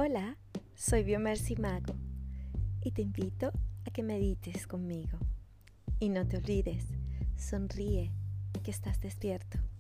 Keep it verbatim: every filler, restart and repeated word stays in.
Hola, soy Biomercy Mago y te invito a que medites conmigo. Y no te olvides, sonríe que estás despierto.